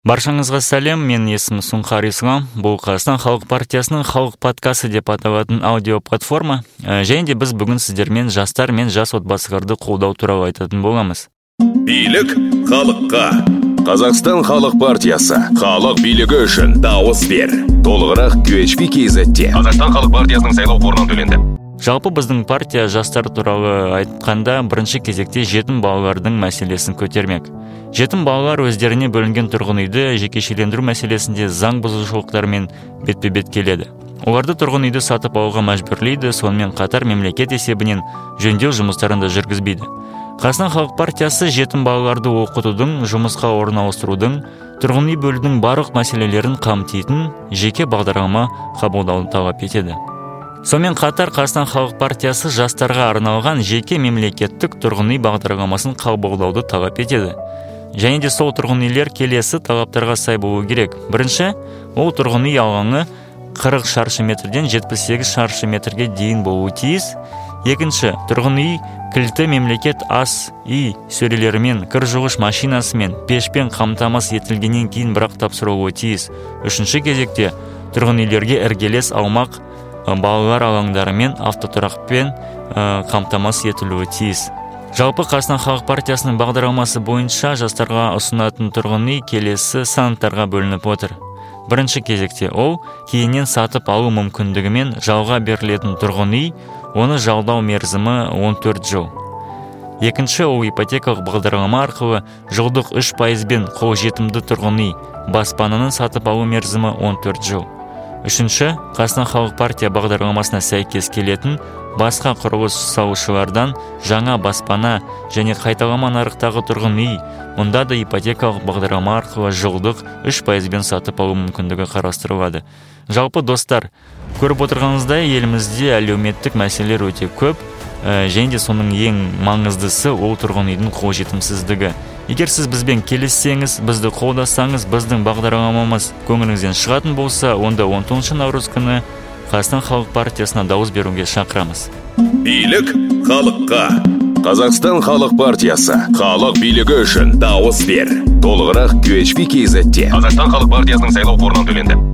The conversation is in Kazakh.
Баршаңызға сәлем, мен есімім Сұңқар Ислам. Бұл Қазақстан Халық партиясының халық подкасты деп аталатын аудио платформа. Және де біз бүгін сіздермен жастар мен жас отбасыларды қолдау туралы айтатын боламыз. Билік халыққа. Қазақстан Халық партиясы. Халық билігі үшін дауыс бер. Толығырақ QHP-KZ-те. Қазақстан Халық партиясының сайлау қорынан төленді. Жалпы біздің партия жастар туралы айтқанда бірінші кезекте жетім балалардың мәселесін көтермек. Жетім балалар өздеріне бөлінген тұрғын үйді жекешелендіру мәселесінде заң бұзушылықтармен бетпе-бет келеді. Оларды тұрғын үйді сатып алуға мәжбүрлейді, сонымен қатар мемлекет есебінен жөндеу жұмыстарын да жүргізбейді. Қазақстан Халық партиясы жетім балаларды оқытудың, жұмысқа орналастырудың, тұрғын үй бөлудің барлық мәселелерін қамтитын жеке бағдарлама қабылдауды талап етеді. Сонымен қатар Қазақстан Халық партиясы жастарға арналған жеке мемлекеттік тұрғын үй бағдарламасын қабылдауды талап етеді. Және де сол тұрғын үйлер келесі талаптарға сай болуы керек. Бірінші, ол тұрғын үй алаңы 40 шаршы метрден 78 шаршы метрге дейін болуы тиіс. Екінші, тұрғын үй кілті мемлекет ас үй сөрелерімен, кір жуғыш машинасымен, пешпен қамтамасыз етілгеннен кейін бірақ тапсырылуы тиіс. Үшінші кезекте, тұрғын үйлерге іргелес аумақ балалар алаңдары мен автотұрақпен қамтамасыз етілуі тиіс. Жалпы Қазақстан Халық партиясының бағдарламасы бойынша жастарға ұсынатын тұрғын үй келесі санаттарға бөлініп отыр. Бірінші кезекте ол кейіннен сатып алу мүмкіндігімен жалға берілетін тұрғын үй, оны жалдау мерзімі 14 жыл. Екінші, ол ипотекалық бағдарлама арқылы жылдық 3%-бен қолжетімді тұрғын үй, баспананы сатып алу мерзімі 14 жыл. Үшінші, Қазақстан Халық партия бағдарламасына сәйкес келетін басқа құрылыс салушылардан жаңа баспана және қайталама нарықтағы тұрғын үй, мұнда да ипотекалық бағдарлама арқылы жылдық 3%-бен сатып алу мүмкіндігі қарастырылады. Жалпы достар, көріп отырғаныңыздай елімізде әлеуметтік мәселелер өте көп, және де соның ең маңыздысы ол тұрғын үйдің қолжетімсіздігі. Егер сіз бізбен келіссеңіз, бізді қолдасаңыз, біздің бағдарламамыз көңіліңізден шығатын болса, онда 10 наурыз күні Қазақстан Халық партиясына дауыс беруге шақырамыз. Билік халыққа. Қазақстан Халық партиясы. Халық билігі үшін дауыс бер. Толығырақ QHP-KZ-те. Қазақстан Халық партиясының сайлау қорынан төленді.